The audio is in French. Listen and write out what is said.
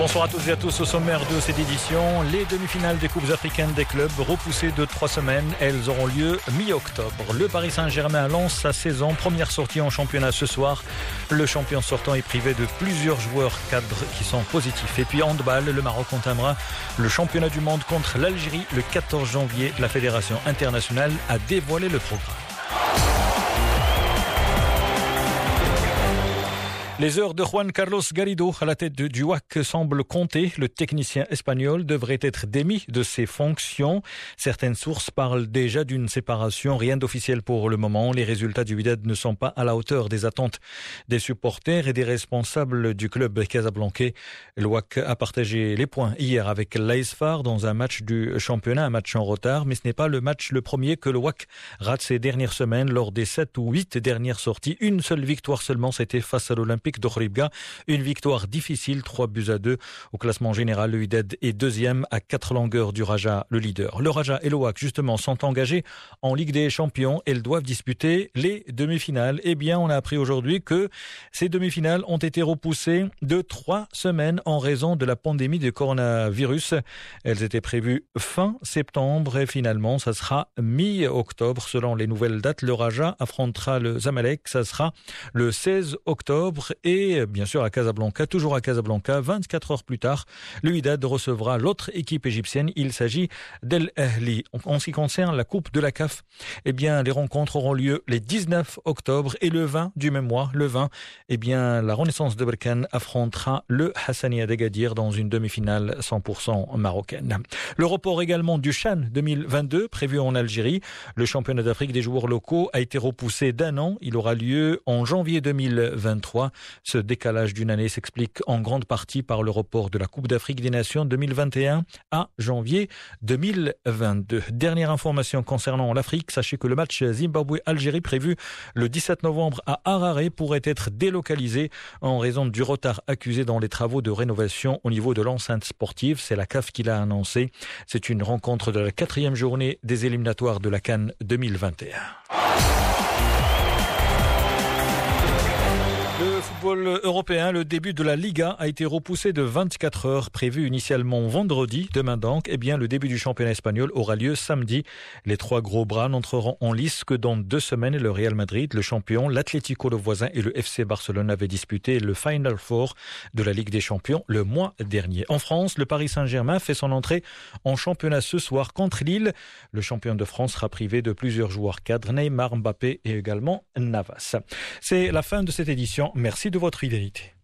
Bonsoir à toutes et à tous. Au sommaire de cette édition, les demi-finales des Coupes africaines des clubs repoussées de 3 semaines. Elles auront lieu mi-octobre. Le Paris Saint-Germain lance sa saison. Première sortie en championnat ce soir. Le champion sortant est privé de plusieurs joueurs cadres qui sont positifs. Et puis handball, le Maroc entamera le championnat du monde contre l'Algérie le 14 janvier. La Fédération internationale a dévoilé le programme. Les heures de Juan Carlos Garrido à la tête du WAC semblent compter. Le technicien espagnol devrait être démis de ses fonctions. Certaines sources parlent déjà d'une séparation. Rien d'officiel pour le moment. Les résultats du Wydad ne sont pas à la hauteur des attentes des supporters et des responsables du club casablancais. Le WAC a partagé les points hier avec l'AS FAR dans un match du championnat, un match en retard. Mais ce n'est pas le match le premier que le WAC rate ces dernières semaines. Lors des 7 ou 8 dernières sorties, une seule victoire seulement, c'était face à l'Olympique d'Ohribga. Une victoire difficile, 3-2. Au classement général, le Wydad est deuxième à 4 longueurs du Raja, le leader. Le Raja et le WAC, justement, sont engagés en Ligue des Champions. Elles doivent disputer les demi-finales. Eh bien, on a appris aujourd'hui que ces demi-finales ont été repoussées de 3 semaines en raison de la pandémie de coronavirus. Elles étaient prévues fin septembre et finalement, ça sera mi-octobre. Selon les nouvelles dates, le Raja affrontera le Zamalek. Ça sera le 16 octobre. Et bien sûr à Casablanca, toujours à Casablanca, 24 heures plus tard, le Wydad recevra l'autre équipe égyptienne. Il s'agit d'El Ahli. En ce qui concerne la Coupe de la CAF, eh bien les rencontres auront lieu les 19 octobre et le 20 du même mois. Le 20, eh bien la Renaissance de Berkane affrontera le Hassania d'Agadir dans une demi-finale 100% marocaine. Le report également du CHAN 2022 prévu en Algérie. Le championnat d'Afrique des joueurs locaux a été repoussé d'1 an. Il aura lieu en janvier 2023. Ce décalage d'une année s'explique en grande partie par le report de la Coupe d'Afrique des Nations 2021 à janvier 2022. Dernière information concernant l'Afrique, sachez que le match Zimbabwe-Algérie prévu le 17 novembre à Harare pourrait être délocalisé en raison du retard accusé dans les travaux de rénovation au niveau de l'enceinte sportive. C'est la CAF qui l'a annoncé. C'est une rencontre de la 4e journée des éliminatoires de la CAN 2021. Le football européen, le début de la Liga a été repoussé de 24 heures, prévu initialement vendredi. Demain donc, eh bien, le début du championnat espagnol aura lieu samedi. Les 3 gros bras n'entreront en lice que dans 2 semaines. Le Real Madrid, le champion, l'Atlético, le voisin, et le FC Barcelone avaient disputé le Final Four de la Ligue des Champions le mois dernier. En France, le Paris Saint-Germain fait son entrée en championnat ce soir contre Lille. Le champion de France sera privé de plusieurs joueurs cadres, Neymar, Mbappé et également Navas. C'est la fin de cette édition. Merci de votre fidélité.